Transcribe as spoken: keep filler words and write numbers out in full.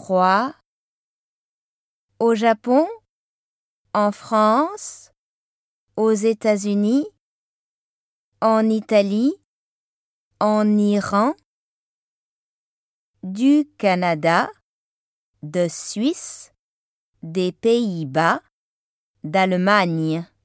trois. Au Japon, en France, aux États-Unis, en Italie, en Iran, du Canada, de Suisse, des Pays-Bas, d'Allemagne.